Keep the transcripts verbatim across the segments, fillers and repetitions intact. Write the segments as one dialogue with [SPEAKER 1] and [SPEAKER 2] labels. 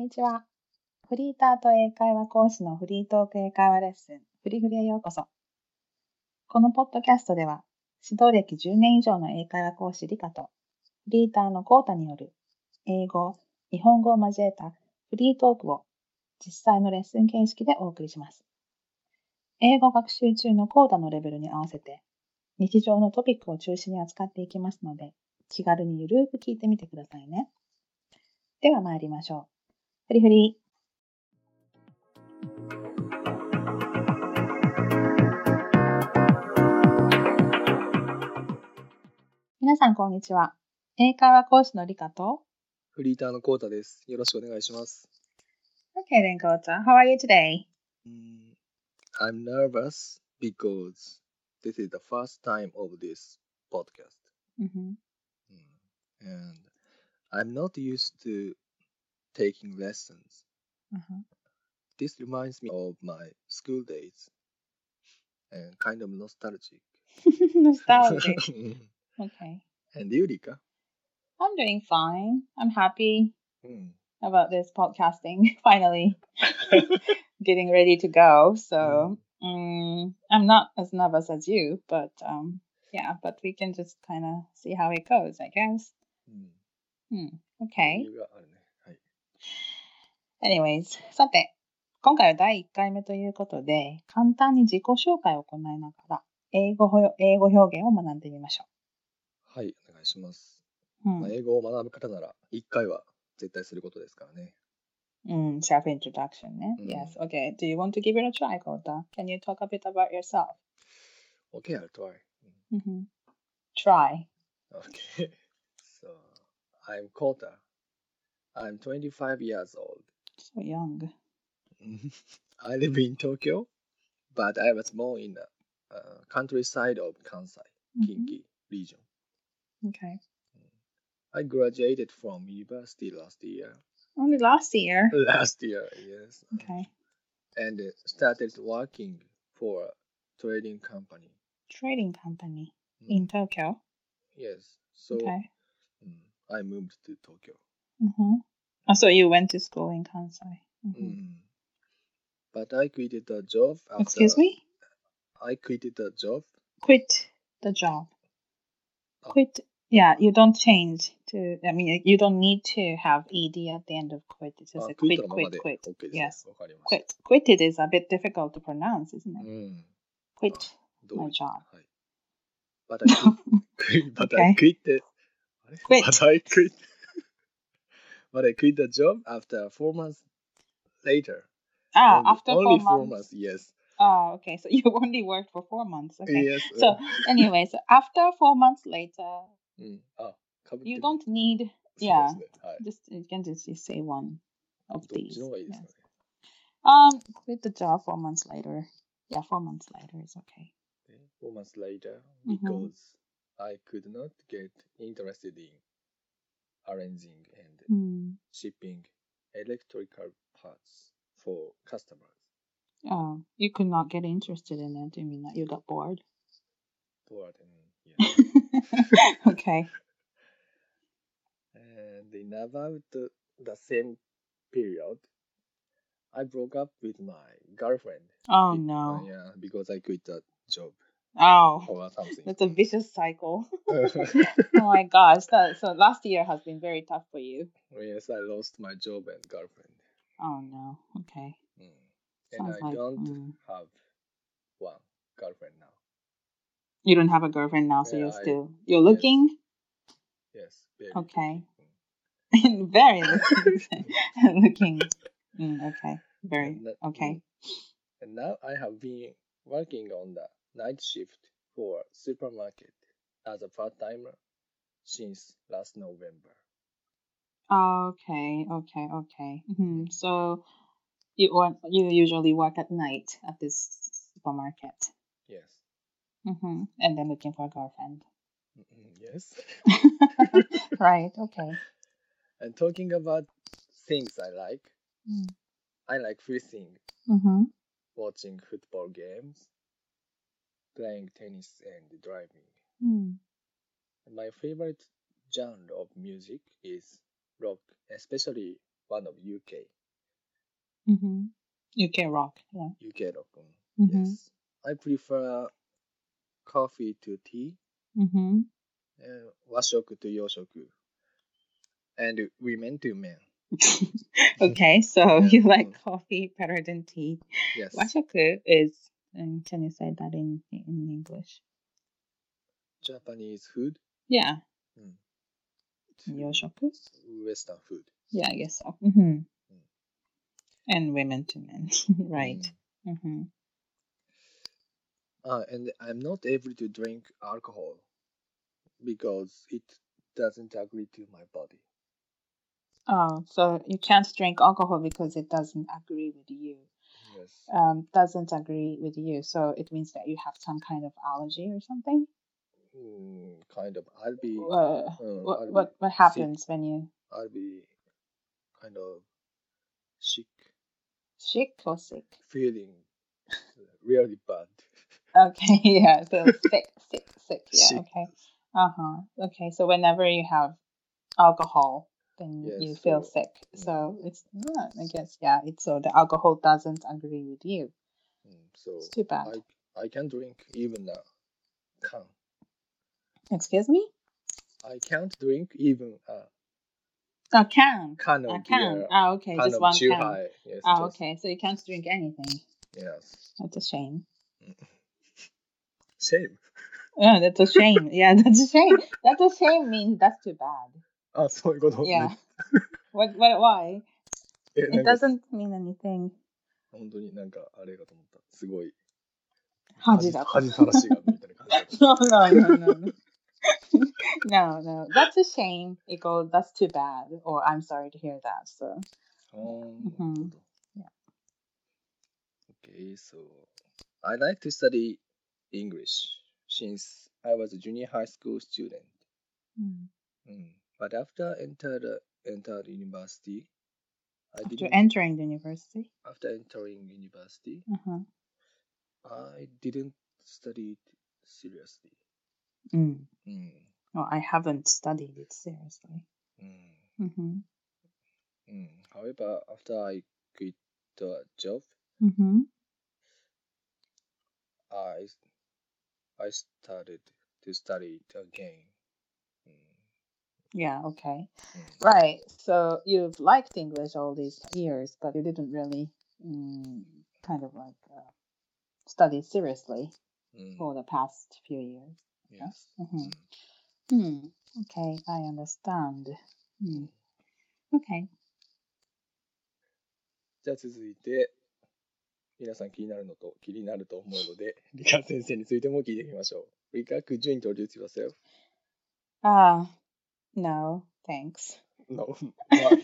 [SPEAKER 1] にちは。フリーターと英会話講師のフリートーク英会話レッスン、フリフリへようこそ。このポッドキャストでは、指導歴じゅうねん以上の英会話講師リカと、フリーターのコウタによる、英語、日本語を交えたフリートークを実際のレッスン形式でお送りします。英語学習中のコウタのレベルに合わせて、日常のトピックを中心に扱っていきますので、気軽にゆるーく聞いてみてくださいね。では参りましょう。フリフリ。皆さんこんにちは。英会話講師のリカと
[SPEAKER 2] フリーターのコウタです。よろしくお願いします。
[SPEAKER 1] Okay then, Kota. How are you today?
[SPEAKER 2] Mm, I'm nervous because this is the first time of this podcast.
[SPEAKER 1] Mm-hmm.
[SPEAKER 2] Mm, And I'm not used to taking lessons.
[SPEAKER 1] Uh-huh.
[SPEAKER 2] This reminds me of my school days and kind of nostalgic.
[SPEAKER 1] Nostalgic. Okay.
[SPEAKER 2] And you, Rika?
[SPEAKER 1] I'm doing fine. I'm happy
[SPEAKER 2] Mm.
[SPEAKER 1] about this podcasting. Finally getting ready to go. So um, I'm not as nervous as you, but um, yeah, but we can just kind of see how it goes, I guess.
[SPEAKER 2] Mm.
[SPEAKER 1] Hmm. Okay.
[SPEAKER 2] 余裕があるね。はい。
[SPEAKER 1] Anyways, さて、今回はだいいっかいめということで、簡単に自己紹介を行いながら、英語ほ英語表現を学んでみましょ
[SPEAKER 2] はい、お願いします。
[SPEAKER 1] う。
[SPEAKER 2] まあ、英語を学ぶ方ならいっかいは絶対することですからね。
[SPEAKER 1] うん。うん、self-introduction ね。
[SPEAKER 2] うん
[SPEAKER 1] Yes. Okay. Do you want to give it a try, Kota? Can you talk a bit about yourself?
[SPEAKER 2] Okay, I'll try.
[SPEAKER 1] Mm-hmm. Try.
[SPEAKER 2] Okay. So, I'm Kota. I'm twenty-five years old.
[SPEAKER 1] So young.
[SPEAKER 2] I live in Tokyo, but I was born in the uh, countryside of Kansai, Kinki region.
[SPEAKER 1] Okay.
[SPEAKER 2] I graduated from university last year.
[SPEAKER 1] Only last year.
[SPEAKER 2] Last year, yes.
[SPEAKER 1] Okay.
[SPEAKER 2] And uh, started working for a trading company.
[SPEAKER 1] Trading company
[SPEAKER 2] Mm,
[SPEAKER 1] in Tokyo.
[SPEAKER 2] Yes. So,
[SPEAKER 1] Okay.
[SPEAKER 2] mm, I moved to Tokyo.
[SPEAKER 1] Mm-hmm. Oh, so you went to school in Kansai. Mm-hmm.
[SPEAKER 2] Mm. But I quitted the job after
[SPEAKER 1] Excuse me?
[SPEAKER 2] I quitted the job.
[SPEAKER 1] Quit the job.
[SPEAKER 2] Oh.
[SPEAKER 1] Quit. Yeah, you don't change to, I mean, you don't need to have ed at the end of quit. It's just
[SPEAKER 2] あ、
[SPEAKER 1] a
[SPEAKER 2] クイッ
[SPEAKER 1] quit,
[SPEAKER 2] トのまま
[SPEAKER 1] quit,
[SPEAKER 2] で
[SPEAKER 1] quit.
[SPEAKER 2] OK ですね。
[SPEAKER 1] Yes.
[SPEAKER 2] わかりまし
[SPEAKER 1] Quit. Quitted is a bit difficult to pronounce, isn't
[SPEAKER 2] た。
[SPEAKER 1] it?
[SPEAKER 2] うん。
[SPEAKER 1] Quit
[SPEAKER 2] どう
[SPEAKER 1] my
[SPEAKER 2] い
[SPEAKER 1] job.
[SPEAKER 2] はい。But I quit, but I
[SPEAKER 1] Okay.
[SPEAKER 2] quit, あれ
[SPEAKER 1] Quit.
[SPEAKER 2] But I quit, but I quit the job after four months later.
[SPEAKER 1] Ah,
[SPEAKER 2] Only,
[SPEAKER 1] after
[SPEAKER 2] only
[SPEAKER 1] four
[SPEAKER 2] four
[SPEAKER 1] months.
[SPEAKER 2] months, yes.
[SPEAKER 1] Oh, okay. So you only worked for four months. Okay.
[SPEAKER 2] Yes.
[SPEAKER 1] So anyway, so after four months later,
[SPEAKER 2] うん。あ、かぶって
[SPEAKER 1] you
[SPEAKER 2] る。
[SPEAKER 1] don't need,
[SPEAKER 2] そうで
[SPEAKER 1] yeah,
[SPEAKER 2] すね。はい。
[SPEAKER 1] just, you can just say one of
[SPEAKER 2] どっ
[SPEAKER 1] these.
[SPEAKER 2] ちの方がいいです
[SPEAKER 1] Yes.
[SPEAKER 2] かね。
[SPEAKER 1] Um, quit the job four months later. Yeah, four months later is okay.
[SPEAKER 2] Four months later,
[SPEAKER 1] Mhm.
[SPEAKER 2] because I could not get interested in arranging and
[SPEAKER 1] Hmm.
[SPEAKER 2] shipping electrical parts for customers.
[SPEAKER 1] Oh, you could not get interested in it. Do you mean that you got bored?
[SPEAKER 2] Bored and yeah.
[SPEAKER 1] Okay.
[SPEAKER 2] And in about the, the same period, I broke up with my girlfriend.
[SPEAKER 1] Oh
[SPEAKER 2] Be- uh,
[SPEAKER 1] no.
[SPEAKER 2] yeah, because I quit the job
[SPEAKER 1] Oh,
[SPEAKER 2] or something.
[SPEAKER 1] that's a vicious cycle. Oh my gosh. That, so last year has been very tough for you.
[SPEAKER 2] Yes, I lost my job and girlfriend.
[SPEAKER 1] Oh no. Okay.
[SPEAKER 2] Mm. And
[SPEAKER 1] Sounds
[SPEAKER 2] I
[SPEAKER 1] like
[SPEAKER 2] don't
[SPEAKER 1] mm.
[SPEAKER 2] have one girlfriend now.
[SPEAKER 1] You don't have a girlfriend now, so
[SPEAKER 2] Yeah,
[SPEAKER 1] you're
[SPEAKER 2] I-
[SPEAKER 1] still you're
[SPEAKER 2] yes.
[SPEAKER 1] looking.
[SPEAKER 2] Yes, very
[SPEAKER 1] Okay.
[SPEAKER 2] looking. Mm.
[SPEAKER 1] Very looking. looking. Mm, okay. Very
[SPEAKER 2] And that-
[SPEAKER 1] okay.
[SPEAKER 2] And now I have been working on the night shift for a supermarket as a part-timer since last November.
[SPEAKER 1] Okay. Okay. Okay. hmm So you want you usually work at night at this supermarket.
[SPEAKER 2] Yes.
[SPEAKER 1] Mm-hmm. And then looking for a girlfriend.
[SPEAKER 2] Mm, Yes.
[SPEAKER 1] Right. Okay.
[SPEAKER 2] And talking about things I like,
[SPEAKER 1] Mm.
[SPEAKER 2] I like fishing,
[SPEAKER 1] Mm-hmm.
[SPEAKER 2] watching football games, playing tennis, and driving.
[SPEAKER 1] Mm.
[SPEAKER 2] And my favorite genre of music is rock, especially one of U K.
[SPEAKER 1] Mm-hmm. U K rock, yeah.
[SPEAKER 2] U K rock.
[SPEAKER 1] Mm-hmm.
[SPEAKER 2] Yes. I prefer coffee to tea,
[SPEAKER 1] Mm-hmm.
[SPEAKER 2] uh, 和食 to 洋食 and women to men.
[SPEAKER 1] Okay, so
[SPEAKER 2] Yeah.
[SPEAKER 1] you like
[SPEAKER 2] Mm.
[SPEAKER 1] coffee better than tea.
[SPEAKER 2] Yes.
[SPEAKER 1] Washoku is, um, can you say that in in English?
[SPEAKER 2] Japanese food.
[SPEAKER 1] Yeah.
[SPEAKER 2] Mm.
[SPEAKER 1] Yoshoku?
[SPEAKER 2] Western food.
[SPEAKER 1] Yeah, I guess so. Mm-hmm.
[SPEAKER 2] Mm.
[SPEAKER 1] And women to men, right?
[SPEAKER 2] Mm.
[SPEAKER 1] Mm-hmm.
[SPEAKER 2] Uh, and I'm not able to drink alcohol because it doesn't agree to my body.
[SPEAKER 1] Oh, so you can't drink alcohol because it doesn't agree with you.
[SPEAKER 2] Yes.
[SPEAKER 1] Um, doesn't agree with you. So it means that you have some kind of allergy or something.
[SPEAKER 2] Mm, kind of. I'll be.
[SPEAKER 1] Uh,
[SPEAKER 2] Uh,
[SPEAKER 1] what
[SPEAKER 2] I'll
[SPEAKER 1] what
[SPEAKER 2] be
[SPEAKER 1] what
[SPEAKER 2] sick.
[SPEAKER 1] happens when you
[SPEAKER 2] I'll be kind of sick,
[SPEAKER 1] sick or sick?
[SPEAKER 2] feeling really bad.
[SPEAKER 1] Okay, yeah. So sick, sick, sick. Yeah.
[SPEAKER 2] Sick.
[SPEAKER 1] Okay. Uh huh. Okay. So whenever you have alcohol, then
[SPEAKER 2] Yes.
[SPEAKER 1] you feel
[SPEAKER 2] So.
[SPEAKER 1] sick.
[SPEAKER 2] Mm,
[SPEAKER 1] So it's uh, I guess yeah. It's so the alcohol doesn't agree with you.
[SPEAKER 2] mm, so
[SPEAKER 1] It's too bad.
[SPEAKER 2] I I can drink even a can.
[SPEAKER 1] Excuse me?
[SPEAKER 2] I can't drink even a
[SPEAKER 1] A can.
[SPEAKER 2] can
[SPEAKER 1] A
[SPEAKER 2] of
[SPEAKER 1] can.
[SPEAKER 2] beer,
[SPEAKER 1] Ah, okay.
[SPEAKER 2] can
[SPEAKER 1] Just
[SPEAKER 2] of
[SPEAKER 1] one can.
[SPEAKER 2] Chūhai. Yes.
[SPEAKER 1] Ah,
[SPEAKER 2] Just
[SPEAKER 1] okay. So you can't drink anything.
[SPEAKER 2] yes.
[SPEAKER 1] That's a shame.
[SPEAKER 2] Shame.
[SPEAKER 1] Oh, that's a shame. Yeah, that's a shame. That's a shame means that's too bad.
[SPEAKER 2] あ、そういうことね。
[SPEAKER 1] Yeah. What? What? Why?
[SPEAKER 2] え、な
[SPEAKER 1] It
[SPEAKER 2] んか、
[SPEAKER 1] doesn't mean anything.
[SPEAKER 2] 本当になんかあれかと思った。すごい。
[SPEAKER 1] 恥だと。
[SPEAKER 2] 恥さらしがみたいな感じだと。
[SPEAKER 1] No, no, no, no, no. No, no. That's a shame. Equal, that's too bad. Or I'm sorry to hear that. So.
[SPEAKER 2] あー、なる
[SPEAKER 1] Mhm.
[SPEAKER 2] ほど。
[SPEAKER 1] Yeah.
[SPEAKER 2] Okay, so I like to study English since I was a junior high school student.
[SPEAKER 1] Mm.
[SPEAKER 2] Mm. But after entered entered university, I
[SPEAKER 1] After
[SPEAKER 2] didn't.
[SPEAKER 1] entering the university.
[SPEAKER 2] After entering university,
[SPEAKER 1] Uh-huh.
[SPEAKER 2] I didn't study it seriously.
[SPEAKER 1] Mm.
[SPEAKER 2] Mm.
[SPEAKER 1] Well, I haven't studied it seriously.
[SPEAKER 2] Mm.
[SPEAKER 1] Mm-hmm.
[SPEAKER 2] Mm. However, after I quit the job,
[SPEAKER 1] Mm-hmm.
[SPEAKER 2] I I started to study it again. Mm.
[SPEAKER 1] Yeah, okay.
[SPEAKER 2] Mm.
[SPEAKER 1] Right. So you've liked English all these years, but you didn't really mm, kind of like uh, study seriously
[SPEAKER 2] Mm.
[SPEAKER 1] for the past few years.
[SPEAKER 2] Yes.
[SPEAKER 1] Mm-hmm.
[SPEAKER 2] Mm.
[SPEAKER 1] Hmm. Okay, I understand. Hmm.
[SPEAKER 2] うん
[SPEAKER 1] Okay.
[SPEAKER 2] じゃあ続いて、皆さん気になるのと気になると思うので、理科先生についても聞いてみましょう。理科、could you introduce yourself?
[SPEAKER 1] Uh, no, thanks.
[SPEAKER 2] No. Why?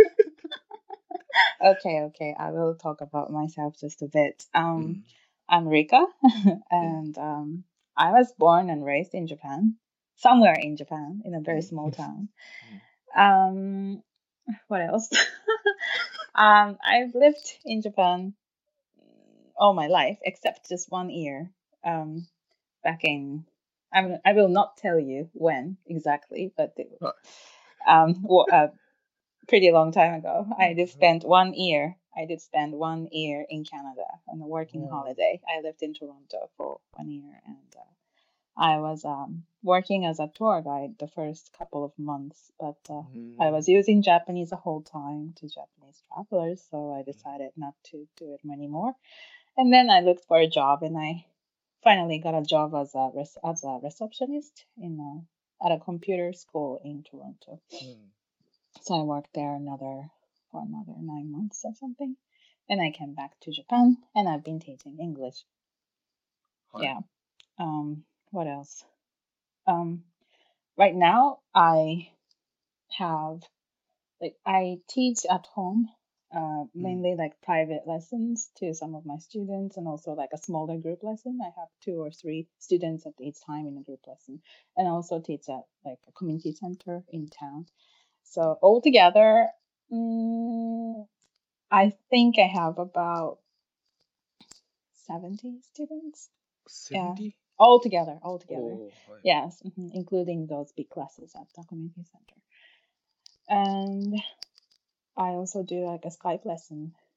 [SPEAKER 1] Okay, okay. I will talk about myself just a bit. Um,
[SPEAKER 2] うん。
[SPEAKER 1] I'm Rika, and um, I was born and raised in Japan, somewhere in Japan, in a very small town. Um, what else? um, I've lived in Japan all my life, except just one year. Um, back in, I will, I will not tell you when exactly, but it,
[SPEAKER 2] Right.
[SPEAKER 1] um, well, uh, pretty long time ago. I did spend one year. I did spend one year in Canada on a working
[SPEAKER 2] Oh.
[SPEAKER 1] holiday. I lived in Toronto for one year, and uh, I was um, working as a tour guide the first couple of months, but uh, I was using Japanese the whole time to Japanese travelers, so I decided not to do it anymore. And then I looked for a job, and I finally got a job as a res- as a receptionist in a, at a computer school in Toronto.
[SPEAKER 2] うん
[SPEAKER 1] So I worked there another for another nine months or something. And I came back to Japan, and I've been teaching English.
[SPEAKER 2] はい。
[SPEAKER 1] Yeah. Um. What else? Um. Right now, I have like I teach at home, uh, mainly like private lessons to some of my students, and also like a smaller group lesson. I have two or three students at each time in a group lesson, and I also teach at like a community center in town. So altogether, mm, I think I have about seventy students. Yeah,
[SPEAKER 2] セブンティー?
[SPEAKER 1] altogether, altogether.
[SPEAKER 2] おー、はい。
[SPEAKER 1] Yes, mhm, including those big classes at the community center. And I also do like a Skype lesson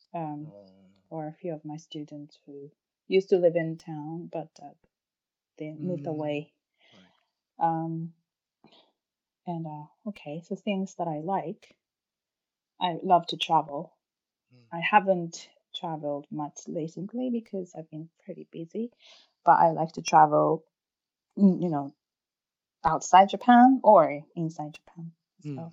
[SPEAKER 1] um,
[SPEAKER 2] あ
[SPEAKER 1] or a few of my students who used to live in town, but uh, they
[SPEAKER 2] ー
[SPEAKER 1] moved
[SPEAKER 2] うん
[SPEAKER 1] away.
[SPEAKER 2] はい
[SPEAKER 1] Um, and uh, okay, so things that I like, I love to travel.
[SPEAKER 2] うん
[SPEAKER 1] I haven't traveled much recently because I've been pretty busy, but I like to travel, mm, you know, outside Japan or inside Japan.
[SPEAKER 2] うん
[SPEAKER 1] So,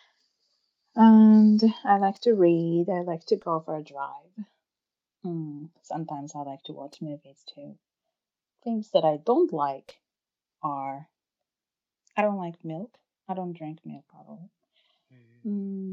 [SPEAKER 1] and I like to read. I like to go for a drive. Mm, sometimes I like to watch movies too. Things that I don't like are I don't like milk. I don't drink milk at all.
[SPEAKER 2] へ
[SPEAKER 1] Mm,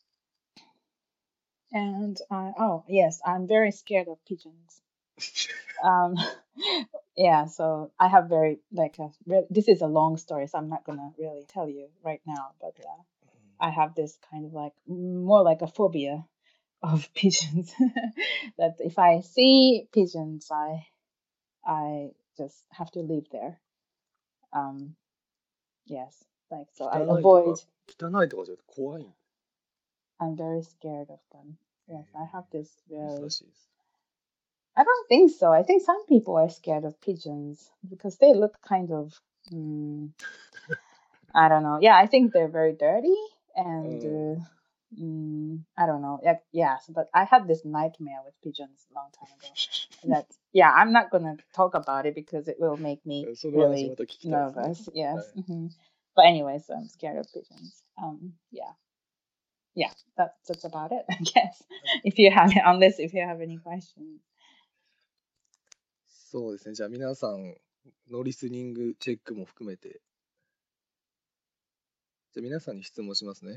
[SPEAKER 1] and I oh yes, I'm very scared of pigeons.
[SPEAKER 2] ー
[SPEAKER 1] Um, yeah, so I have very like a re- this is a long story, so I'm not gonna really tell you right now. But uh, I have this kind of like more like a phobia of pigeons. That if I see pigeons, I I just have to live there. Um, yes, like so I
[SPEAKER 2] 汚いと
[SPEAKER 1] avoid.
[SPEAKER 2] か、汚いとかじゃなくて怖いん
[SPEAKER 1] I'm very scared of them. Yes, I have this
[SPEAKER 2] 珍
[SPEAKER 1] very.
[SPEAKER 2] しいです。
[SPEAKER 1] I don't think so. I think some people are scared of pigeons because they look kind of. Mm, I don't know. Yeah, I think they're very dirty and.
[SPEAKER 2] うん
[SPEAKER 1] Uh, mm, I don't know. Yeah, yes, but I had this nightmare with pigeons a long time ago. That yeah, I'm not gonna talk about it because it will make me
[SPEAKER 2] その話ま
[SPEAKER 1] really
[SPEAKER 2] た聞きたいですね。
[SPEAKER 1] nervous.
[SPEAKER 2] は
[SPEAKER 1] Yes.
[SPEAKER 2] い
[SPEAKER 1] hmm But anyway, so I'm scared of pigeons. Um, yeah, yeah. That's that's about it, I guess. If you have unless if you have any questions.
[SPEAKER 2] そうですね。じゃあ皆さんのリスニングチェックも含めて、じゃあ皆さんに質問しますね。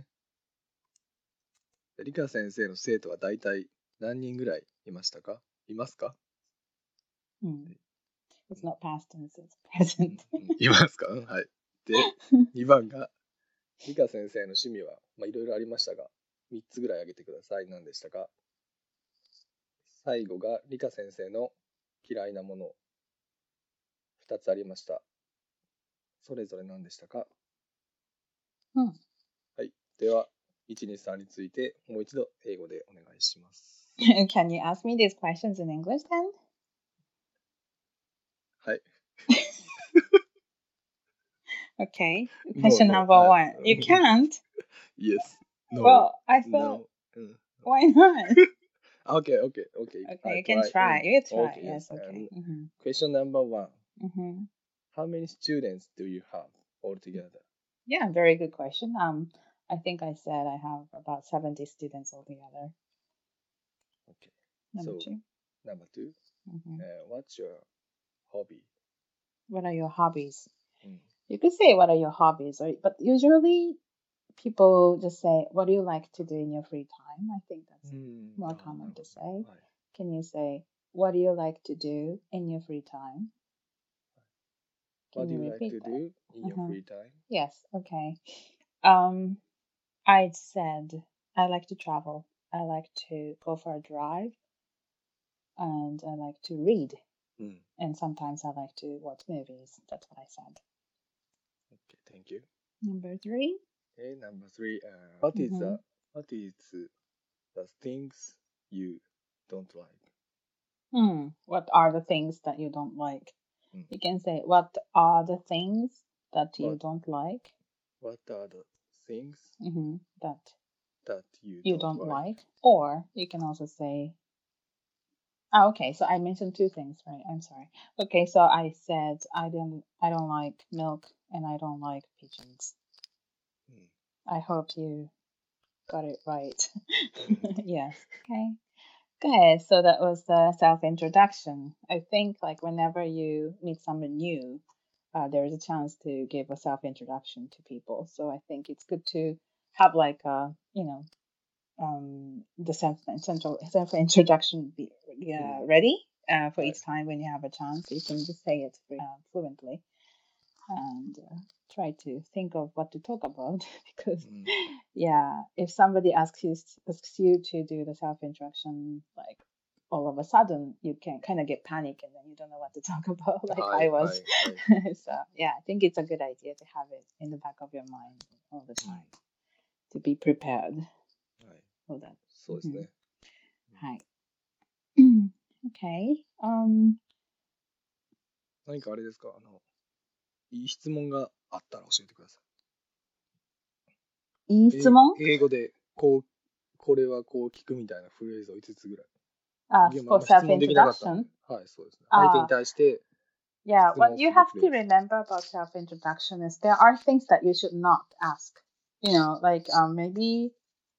[SPEAKER 2] 理科先生の生徒は大体何人ぐらいいましたか？いますか？
[SPEAKER 1] Hmm. It's not past tense, it's present.
[SPEAKER 2] うんいますか？はい。で、にばんが理科先生の趣味は、まあいろいろありましたが、みっつぐらい挙げてください。何でしたか？最後が理科先生の嫌いなもの、ふたつありました。それぞれ何でしたか？
[SPEAKER 1] Hmm.
[SPEAKER 2] はい。では、いち、に、さんについてもう一度英語でお願いします。
[SPEAKER 1] Can you ask me these questions in English then?
[SPEAKER 2] はい。
[SPEAKER 1] Okay.
[SPEAKER 2] No,
[SPEAKER 1] Question
[SPEAKER 2] no.
[SPEAKER 1] number
[SPEAKER 2] Uh,
[SPEAKER 1] one. You can't?
[SPEAKER 2] yes. No.
[SPEAKER 1] Well, I thought,
[SPEAKER 2] No. Mm.
[SPEAKER 1] why not?
[SPEAKER 2] Okay, okay, okay.
[SPEAKER 1] Okay,
[SPEAKER 2] I
[SPEAKER 1] you can
[SPEAKER 2] try.
[SPEAKER 1] try.
[SPEAKER 2] Mm.
[SPEAKER 1] You try.
[SPEAKER 2] Okay,
[SPEAKER 1] Yes,
[SPEAKER 2] yes.
[SPEAKER 1] okay.
[SPEAKER 2] And
[SPEAKER 1] hmm
[SPEAKER 2] question number one.
[SPEAKER 1] hmm
[SPEAKER 2] How many students do you have altogether?
[SPEAKER 1] Yeah, very good question. Um, I think I said I have about seventy students altogether.
[SPEAKER 2] Okay.
[SPEAKER 1] Number
[SPEAKER 2] So,
[SPEAKER 1] two.
[SPEAKER 2] number two.
[SPEAKER 1] hmm
[SPEAKER 2] Uh, what's your hobby?
[SPEAKER 1] What are your hobbies?
[SPEAKER 2] Mm.
[SPEAKER 1] You could say what are your hobbies, or but usually people just say, what do you like to do in your free time? I think that's
[SPEAKER 2] うん。
[SPEAKER 1] more
[SPEAKER 2] あー、な
[SPEAKER 1] common
[SPEAKER 2] る
[SPEAKER 1] to
[SPEAKER 2] ほ
[SPEAKER 1] say.
[SPEAKER 2] ど。はい。
[SPEAKER 1] Can you say, what do you like to do in your free time?
[SPEAKER 2] What
[SPEAKER 1] Can
[SPEAKER 2] do
[SPEAKER 1] you
[SPEAKER 2] you like
[SPEAKER 1] repeat
[SPEAKER 2] to
[SPEAKER 1] that?
[SPEAKER 2] do in your
[SPEAKER 1] Uh-huh.
[SPEAKER 2] free time?
[SPEAKER 1] Yes, okay. Um, I said I like to travel. I like to go for a drive, and I like to read.
[SPEAKER 2] うん。
[SPEAKER 1] And sometimes I like to watch movies. That's what I said.
[SPEAKER 2] Okay, thank you.
[SPEAKER 1] Number three.
[SPEAKER 2] Okay, number three. Uh, what is
[SPEAKER 1] Mhm.
[SPEAKER 2] the what is the things you don't like?
[SPEAKER 1] Hmm. What are the things that you don't like?
[SPEAKER 2] Mm.
[SPEAKER 1] You can say, what are the things that you
[SPEAKER 2] What
[SPEAKER 1] don't like?
[SPEAKER 2] what are the things
[SPEAKER 1] hmm That
[SPEAKER 2] that you,
[SPEAKER 1] you
[SPEAKER 2] don't,
[SPEAKER 1] don't
[SPEAKER 2] like?
[SPEAKER 1] like. Or you can also say, oh, okay, so I mentioned two things, right? I'm sorry. Okay, so I said I don't I don't like milk and I don't like pigeons.
[SPEAKER 2] Mm.
[SPEAKER 1] I hope you got it right.
[SPEAKER 2] Mm.
[SPEAKER 1] Yes. Okay. Good. So that was the self introduction. I think like whenever you meet someone new, uh, there is a chance to give a self introduction to people. So I think it's good to have like a you know um, the self central self introduction be uh,
[SPEAKER 2] Mm.
[SPEAKER 1] ready uh, for
[SPEAKER 2] Right.
[SPEAKER 1] each time when you have a chance. You can just say it uh, fluently and uh, try to think of what to talk about because
[SPEAKER 2] Mm.
[SPEAKER 1] yeah, if somebody asks you asks you to do the self introduction like all of a sudden you can kind of get panic and then you don't know what to talk about like I
[SPEAKER 2] はい、は
[SPEAKER 1] was
[SPEAKER 2] い、はい。
[SPEAKER 1] so yeah, I think it's a good idea to have it in the back of your mind all the time to be prepared
[SPEAKER 2] はい。
[SPEAKER 1] for that.
[SPEAKER 2] そうですね。
[SPEAKER 1] はい。Okay. Um,
[SPEAKER 2] 何かあれですか、あの、いい質問があったら教えてください。
[SPEAKER 1] いい質問？
[SPEAKER 2] え英語で、こう、これはこう聞くみたいなフレーズをいつつぐらい。
[SPEAKER 1] Uh,
[SPEAKER 2] いや、まあ、
[SPEAKER 1] for
[SPEAKER 2] まあ質問できなかったんで。
[SPEAKER 1] self-introduction?
[SPEAKER 2] はい、そうですね。相手に
[SPEAKER 1] Uh,
[SPEAKER 2] 対して質
[SPEAKER 1] yeah, what
[SPEAKER 2] 問
[SPEAKER 1] you
[SPEAKER 2] する
[SPEAKER 1] have
[SPEAKER 2] フレ
[SPEAKER 1] to
[SPEAKER 2] ーズ。
[SPEAKER 1] remember about self-introduction is there are things that you should not ask. You know, like um, maybe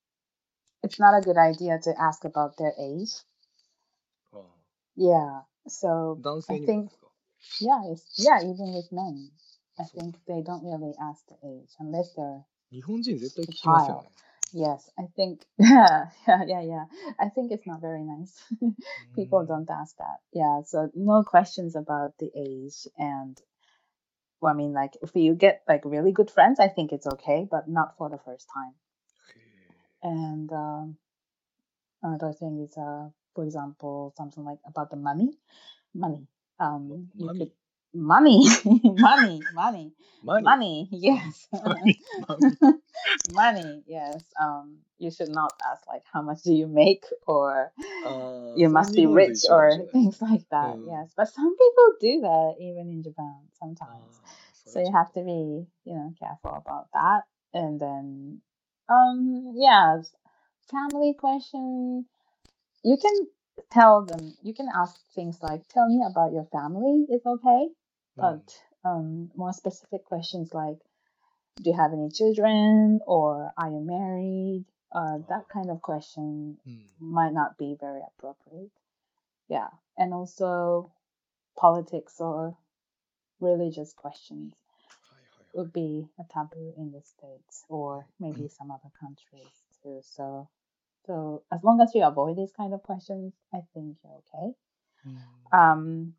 [SPEAKER 1] it's not a good idea to ask about their age.
[SPEAKER 2] ああ、
[SPEAKER 1] Yeah, so
[SPEAKER 2] 男
[SPEAKER 1] I
[SPEAKER 2] 性にもで
[SPEAKER 1] think,
[SPEAKER 2] すか？
[SPEAKER 1] yeah, it's, yeah, even with men, I
[SPEAKER 2] そう。
[SPEAKER 1] think they don't really ask the age unless they're
[SPEAKER 2] 日本人絶対
[SPEAKER 1] a
[SPEAKER 2] 聞きますよ
[SPEAKER 1] child.
[SPEAKER 2] ね。
[SPEAKER 1] Yes, I think, yeah, yeah, yeah, yeah. I think it's not very nice.
[SPEAKER 2] う
[SPEAKER 1] People
[SPEAKER 2] ーん。
[SPEAKER 1] don't ask that. Yeah, so no questions about the age. And, well, I mean, like, if you get like really good friends, I think it's okay, but not for the first time.
[SPEAKER 2] へ
[SPEAKER 1] And um, another thing is, uh, for example, something like about the money. Money.
[SPEAKER 2] え。
[SPEAKER 1] Um,
[SPEAKER 2] ま
[SPEAKER 1] you
[SPEAKER 2] マ
[SPEAKER 1] could
[SPEAKER 2] ミ
[SPEAKER 1] money, money, money,
[SPEAKER 2] マニ
[SPEAKER 1] money.
[SPEAKER 2] あ
[SPEAKER 1] Yes,
[SPEAKER 2] マミマミ
[SPEAKER 1] money. Yes. Um, you should not ask like how much do you make or
[SPEAKER 2] ああ、
[SPEAKER 1] you
[SPEAKER 2] それ
[SPEAKER 1] must
[SPEAKER 2] 日
[SPEAKER 1] be
[SPEAKER 2] 本と
[SPEAKER 1] rich
[SPEAKER 2] 一緒かもしれ
[SPEAKER 1] or
[SPEAKER 2] ないです
[SPEAKER 1] things
[SPEAKER 2] ね。
[SPEAKER 1] like
[SPEAKER 2] う
[SPEAKER 1] that.
[SPEAKER 2] ん。
[SPEAKER 1] Yes, but some people do that even in Japan
[SPEAKER 2] あ
[SPEAKER 1] sometimes.
[SPEAKER 2] あ、そ
[SPEAKER 1] So
[SPEAKER 2] れ
[SPEAKER 1] you
[SPEAKER 2] ちょっ
[SPEAKER 1] have
[SPEAKER 2] と。
[SPEAKER 1] to be, you know, careful about that. And then, um, yeah, family question. You can tell them, you can ask things like, tell me about your family is okay.
[SPEAKER 2] うん。
[SPEAKER 1] But um, more specific questions like, do you have any children or are you married? Uh,
[SPEAKER 2] あ
[SPEAKER 1] that
[SPEAKER 2] あ、
[SPEAKER 1] kind of question
[SPEAKER 2] うん。
[SPEAKER 1] might not be very appropriate. Yeah. And also politics or religious questions
[SPEAKER 2] はいはいはい。
[SPEAKER 1] would be a taboo in the States or
[SPEAKER 2] うん
[SPEAKER 1] maybe some other countries too. So, so as long as you avoid these kind of questions, I think you're okay.
[SPEAKER 2] うん。
[SPEAKER 1] Um,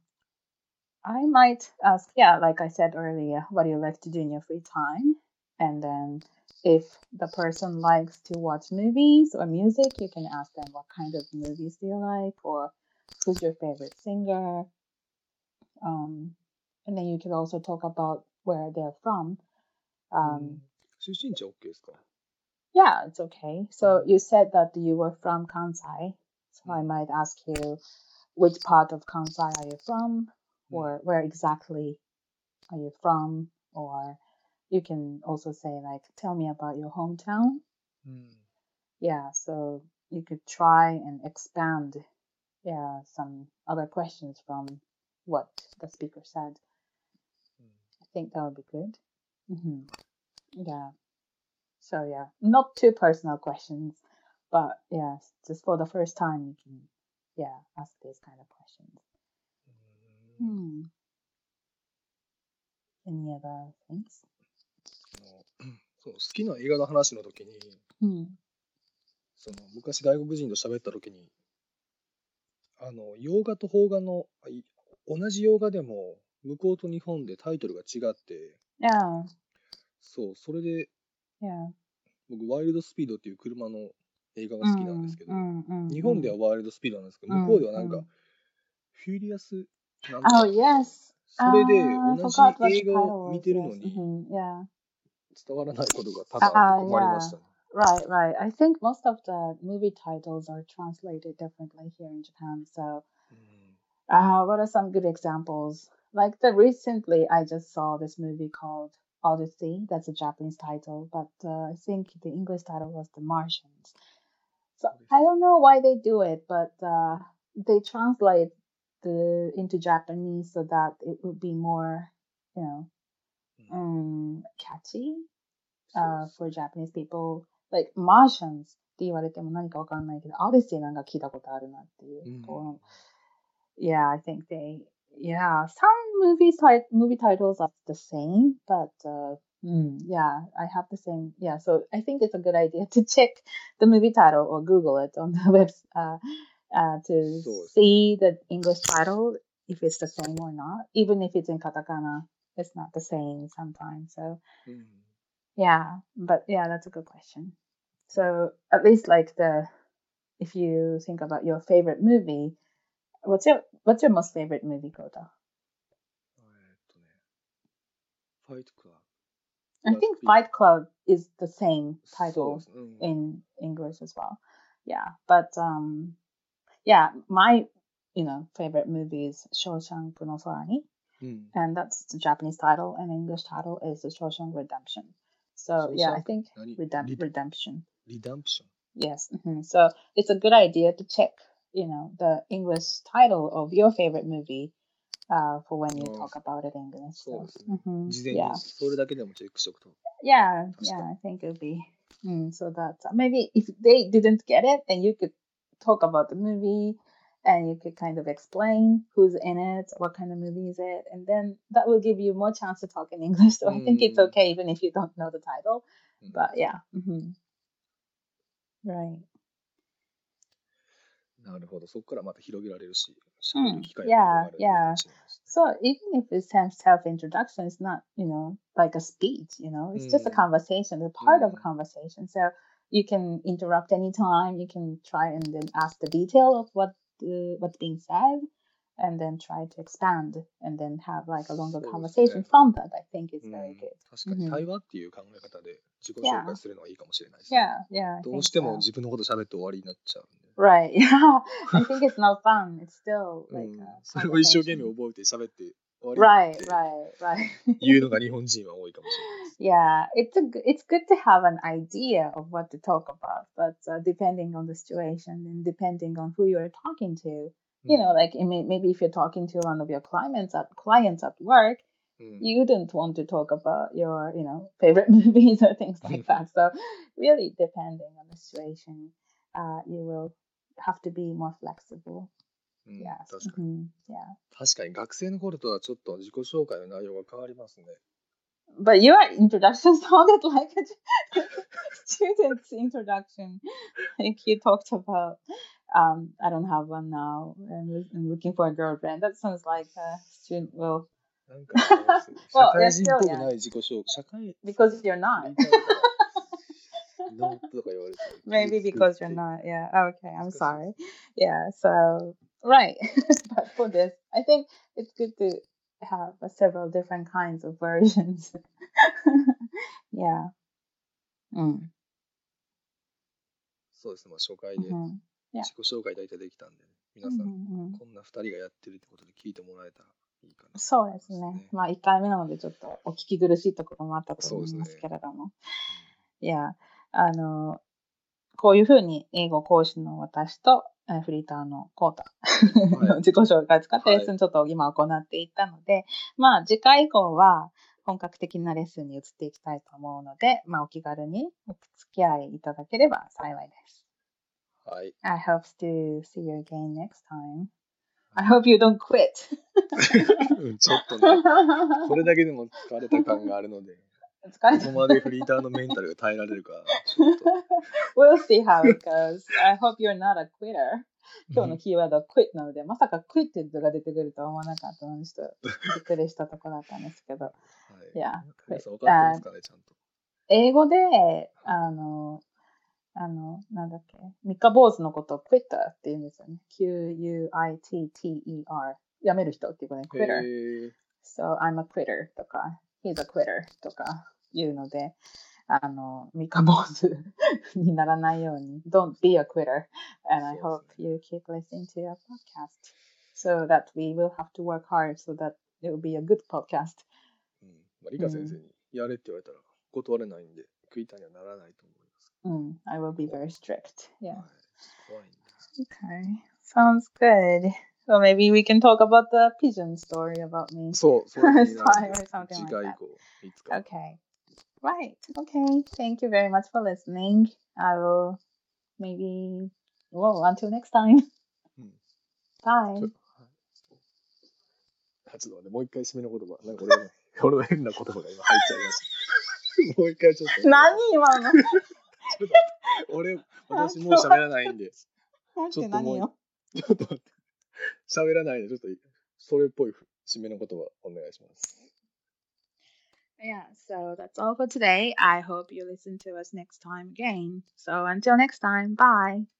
[SPEAKER 1] I might ask, yeah, like I said earlier, what do you like to do in your free time? And then if the person likes to watch movies or music, you can ask them what kind of movies do you like or who's your favorite singer. Um, and then you can also talk about where they're from.
[SPEAKER 2] う
[SPEAKER 1] Um,
[SPEAKER 2] ん。出身地は OK ですか？
[SPEAKER 1] yeah, it's okay. So you said that you were from Kansai. So I
[SPEAKER 2] Mm.
[SPEAKER 1] might ask you, which part of Kansai are you from?
[SPEAKER 2] Mm.
[SPEAKER 1] Or where exactly are you from? Or you can also say like, tell me about your hometown.
[SPEAKER 2] うん。
[SPEAKER 1] Yeah, so you could try and expand, yeah, some other questions from what the speaker said.
[SPEAKER 2] うん。
[SPEAKER 1] I think that would be good. hmm Yeah. So yeah, not too personal questions, but yeah, just for the first time you can, yeah, ask these kind of questions.
[SPEAKER 2] うん。
[SPEAKER 1] Hmm. Any other things?
[SPEAKER 2] あのそう、好きな映画の話の時に、
[SPEAKER 1] Hmm.
[SPEAKER 2] その昔外国人と喋った時に、あの洋画と邦画のあい同じ洋画でも向こうと日本でタイトルが違って、
[SPEAKER 1] Yeah,
[SPEAKER 2] そう、それで
[SPEAKER 1] yeah.
[SPEAKER 2] 僕ワイルドスピードっていう車の映画が好きなんです
[SPEAKER 1] Mm,
[SPEAKER 2] けど、
[SPEAKER 1] mm, mm,
[SPEAKER 2] 日本で
[SPEAKER 1] mm,
[SPEAKER 2] はワイルドスピードなんですけど、向こう
[SPEAKER 1] mm,
[SPEAKER 2] ではなんか
[SPEAKER 1] mm.
[SPEAKER 2] フューリアスなんと
[SPEAKER 1] Oh
[SPEAKER 2] かみたいな、
[SPEAKER 1] yes.
[SPEAKER 2] それで
[SPEAKER 1] Uh, I
[SPEAKER 2] 同じ
[SPEAKER 1] forgot what the
[SPEAKER 2] 映画を
[SPEAKER 1] title
[SPEAKER 2] 見
[SPEAKER 1] was.
[SPEAKER 2] てるの
[SPEAKER 1] Yes.
[SPEAKER 2] に
[SPEAKER 1] hmm Yeah.
[SPEAKER 2] 伝わらないことが多々あって
[SPEAKER 1] Uh,
[SPEAKER 2] 困りま
[SPEAKER 1] yeah.
[SPEAKER 2] したね。
[SPEAKER 1] Right, right. I think most of the movie titles are translated differently here in Japan. So,
[SPEAKER 2] うん。
[SPEAKER 1] uh, what are some good examples? Like the recently, I just saw this movie called Odyssey. That's a Japanese title, but uh, I think the English title was The Martians. So
[SPEAKER 2] そうです。
[SPEAKER 1] I don't know why they do it, but uh, they translate the into Japanese so that it would be more, you know,
[SPEAKER 2] うん
[SPEAKER 1] um, catchy
[SPEAKER 2] そう
[SPEAKER 1] uh,
[SPEAKER 2] です
[SPEAKER 1] for
[SPEAKER 2] ね。
[SPEAKER 1] Japanese people. Like Martians って言われても何かわかんないけど、Odyssey なんか聞いたことあるなっていう。
[SPEAKER 2] うん。
[SPEAKER 1] こう Yeah, I think they, yeah, some movies tit- movie titles are the same, but uh, mm, yeah, I have the same. Yeah, so I think it's a good idea to check the movie title or Google it on the web uh, uh, to
[SPEAKER 2] そうですね。
[SPEAKER 1] see the English title if it's the same or not. Even if it's in katakana, it's not the same sometimes. So
[SPEAKER 2] うん。
[SPEAKER 1] yeah, but yeah, that's a good question. So at least like the if you think about your favorite movie, what's your what's your most favorite movie, Kota?
[SPEAKER 2] えーっとね、ファイトクラブ。
[SPEAKER 1] I think Fight Club is the same
[SPEAKER 2] そうで
[SPEAKER 1] title
[SPEAKER 2] すね。うん。
[SPEAKER 1] in English as well. Yeah, but um, yeah, my, you know, favorite movie is Shawshank no Sorani,
[SPEAKER 2] うん。
[SPEAKER 1] and that's the Japanese title, and English title is The Shawshank Redemption. So yeah, I
[SPEAKER 2] ショーシャンク
[SPEAKER 1] think
[SPEAKER 2] 何
[SPEAKER 1] redemp-
[SPEAKER 2] リ
[SPEAKER 1] redemption.
[SPEAKER 2] リダンプション
[SPEAKER 1] Yes. hmm So it's a good idea to check, you know, the English title of your favorite movie uh, for when you
[SPEAKER 2] ああ
[SPEAKER 1] talk about it in English.
[SPEAKER 2] そう
[SPEAKER 1] So
[SPEAKER 2] ですね。
[SPEAKER 1] hmm
[SPEAKER 2] 事前
[SPEAKER 1] yeah,
[SPEAKER 2] にそれだけでもチェックしとくと。
[SPEAKER 1] yeah,
[SPEAKER 2] 確か
[SPEAKER 1] yeah.
[SPEAKER 2] に。
[SPEAKER 1] I think it'll be. Mm, so that maybe if they didn't get it, then you could talk about the movie, and you could kind of explain who's in it, what kind of movie is it, and then that will give you more chance to talk in English. So
[SPEAKER 2] う
[SPEAKER 1] I think it's
[SPEAKER 2] ん。
[SPEAKER 1] okay even if you don't know the title.
[SPEAKER 2] うん
[SPEAKER 1] But yeah, hmm right.
[SPEAKER 2] なるほど。そこからまた広げられるし、喋る
[SPEAKER 1] Hmm.
[SPEAKER 2] 機会も広
[SPEAKER 1] Yeah,
[SPEAKER 2] がるのいいか
[SPEAKER 1] yeah.
[SPEAKER 2] もしれないですね。
[SPEAKER 1] So even if it's some self-introduction, it's not, you know, like a speech, you know, it's just a
[SPEAKER 2] うん。
[SPEAKER 1] conversation, a
[SPEAKER 2] う
[SPEAKER 1] part of a
[SPEAKER 2] ん。
[SPEAKER 1] conversation. So you can interrupt anytime, you can try and then ask the detail of what the, what's being said, and then try to expand and then have like a longer
[SPEAKER 2] そうです
[SPEAKER 1] conversation
[SPEAKER 2] ね。
[SPEAKER 1] from that. I think
[SPEAKER 2] う
[SPEAKER 1] it's very
[SPEAKER 2] ん。
[SPEAKER 1] good.
[SPEAKER 2] 確かに
[SPEAKER 1] hmm
[SPEAKER 2] 対話っていう考え方で自己紹
[SPEAKER 1] Yeah,
[SPEAKER 2] 介するのはいいかもしれないですね。
[SPEAKER 1] yeah, yeah, I
[SPEAKER 2] どう
[SPEAKER 1] think
[SPEAKER 2] しても
[SPEAKER 1] so.
[SPEAKER 2] 自分のこと喋って終わりになっちゃうんで。
[SPEAKER 1] Right, yeah. I think it's not fun. It's still
[SPEAKER 2] う
[SPEAKER 1] like
[SPEAKER 2] ん。
[SPEAKER 1] a
[SPEAKER 2] それを一生懸命
[SPEAKER 1] conversation.
[SPEAKER 2] 覚えて喋って終わりっ
[SPEAKER 1] Right,
[SPEAKER 2] て
[SPEAKER 1] right, right.
[SPEAKER 2] いうのが日本人は多いかもしれないです。
[SPEAKER 1] Yeah, it's a g- it's good to have an idea of what to talk about, but uh, depending on the situation and depending on who you're talking to,
[SPEAKER 2] う
[SPEAKER 1] you know,
[SPEAKER 2] ん。
[SPEAKER 1] like it may, maybe if you're talking to one of your clients at clients at work,
[SPEAKER 2] うん。
[SPEAKER 1] you wouldn't want to talk about your, you know, favorite movies or things like that. So really depending on the situation, uh, you will have to be more flexible.
[SPEAKER 2] うん、
[SPEAKER 1] Yes.
[SPEAKER 2] 確かに。
[SPEAKER 1] hmm Yeah.
[SPEAKER 2] 確かに学生の頃とはちょっと自己紹介の内容が変わりますね。
[SPEAKER 1] But your introduction sounded like a student's introduction. Like you talked about, um, I don't have one now, and I'm looking for a girlfriend. That sounds like a student. Well,
[SPEAKER 2] なんかあれですよ。社
[SPEAKER 1] well,
[SPEAKER 2] 会
[SPEAKER 1] you're
[SPEAKER 2] 人っ
[SPEAKER 1] still
[SPEAKER 2] ぽく
[SPEAKER 1] young
[SPEAKER 2] ない自己紹介。社会
[SPEAKER 1] because you're
[SPEAKER 2] フ
[SPEAKER 1] not.
[SPEAKER 2] リーターだから、ノーとか言われて、
[SPEAKER 1] Maybe
[SPEAKER 2] 傷つくっ
[SPEAKER 1] because
[SPEAKER 2] て
[SPEAKER 1] you're
[SPEAKER 2] いう。
[SPEAKER 1] not. Yeah. Okay.
[SPEAKER 2] 恥
[SPEAKER 1] I'm
[SPEAKER 2] ずかしいで
[SPEAKER 1] sorry.
[SPEAKER 2] すね。
[SPEAKER 1] Yeah. So right. But for this, I think it's good to have uh, several different kinds of versions. Yeah. Mm.
[SPEAKER 2] そうですね。まあ初回で
[SPEAKER 1] hmm Yeah.
[SPEAKER 2] 自己紹介大体できたんで、ね、皆さん、
[SPEAKER 1] hmm
[SPEAKER 2] こんなふたりがやってるってことで聞いてもらえたらいいかな。
[SPEAKER 1] そうですね。まあいっかいめなのでちょっとお聞き苦しいところもあったと思いますけれども。いや、あの、こういうふうに英語講師の私とえフリーターのコータの自己紹介を使ってレッスンちょっと今行っていったので、まあ次回以降は本格的なレッスンに移っていきたいと思うので、まあお気軽にお付き合いいただければ幸いです。
[SPEAKER 2] はい。
[SPEAKER 1] I hope to see you again next time. I hope you don't quit.
[SPEAKER 2] ちょっとね、これだけでも疲れた感があるので、
[SPEAKER 1] 疲れた。
[SPEAKER 2] どこまでフリーターのメンタルが耐えられるか、ちょっと。
[SPEAKER 1] We'll see how it goes. I hope you're not a quitter. 今日のキーワードは quit なので、まさか quit が出てくるとは思わなかったので、ちょっとびっくりしたところだったんですけど。
[SPEAKER 2] はい。
[SPEAKER 1] いや、
[SPEAKER 2] 皆さん分かってますかね、ちゃんと。
[SPEAKER 1] 英語で、あの、あの、なんだっけ、三日坊主のことを quitter って言うんですよね。キューユーアイティーティーイーアール。やめる人っていうことで、quitter。So, I'm a quitter とか、he's a quitter とか言うので、あの、三日坊主にならないように、don't be a quitter. And I hope you keep listening to your podcast so that we will have to work hard so that it will be a good podcast.
[SPEAKER 2] うん。まあ、リカ先生にやれって言われたら断れないんで、クイターにはならないと思います。
[SPEAKER 1] うん。I will be very strict. Yeah.
[SPEAKER 2] はい。怖いんだ。
[SPEAKER 1] Okay. Sounds good. Well, maybe we can talk about the pigeon story about me.
[SPEAKER 2] そう、それ気になるんで
[SPEAKER 1] Or something
[SPEAKER 2] 次
[SPEAKER 1] like
[SPEAKER 2] 回以
[SPEAKER 1] that.
[SPEAKER 2] 降、いつか。
[SPEAKER 1] Okay. Right. Okay. Thank you very much for listening. I will maybe, well, until next time.
[SPEAKER 2] うん。
[SPEAKER 1] Bye.
[SPEAKER 2] ちょちょっと待って、もう一回締めの言葉。なんか俺の俺の変な言葉が今入っちゃいました。もう一回ちょっと。
[SPEAKER 1] 何今の
[SPEAKER 2] ちょっと待って、俺、私もう喋らないんで。
[SPEAKER 1] ちょっと何よ。
[SPEAKER 2] ちょっと待って。喋らないで、ちょっとそれっぽい締めの言葉お願いします。
[SPEAKER 1] Yeah, so that's all for today. I hope you listen to us next time again. So until next time, bye.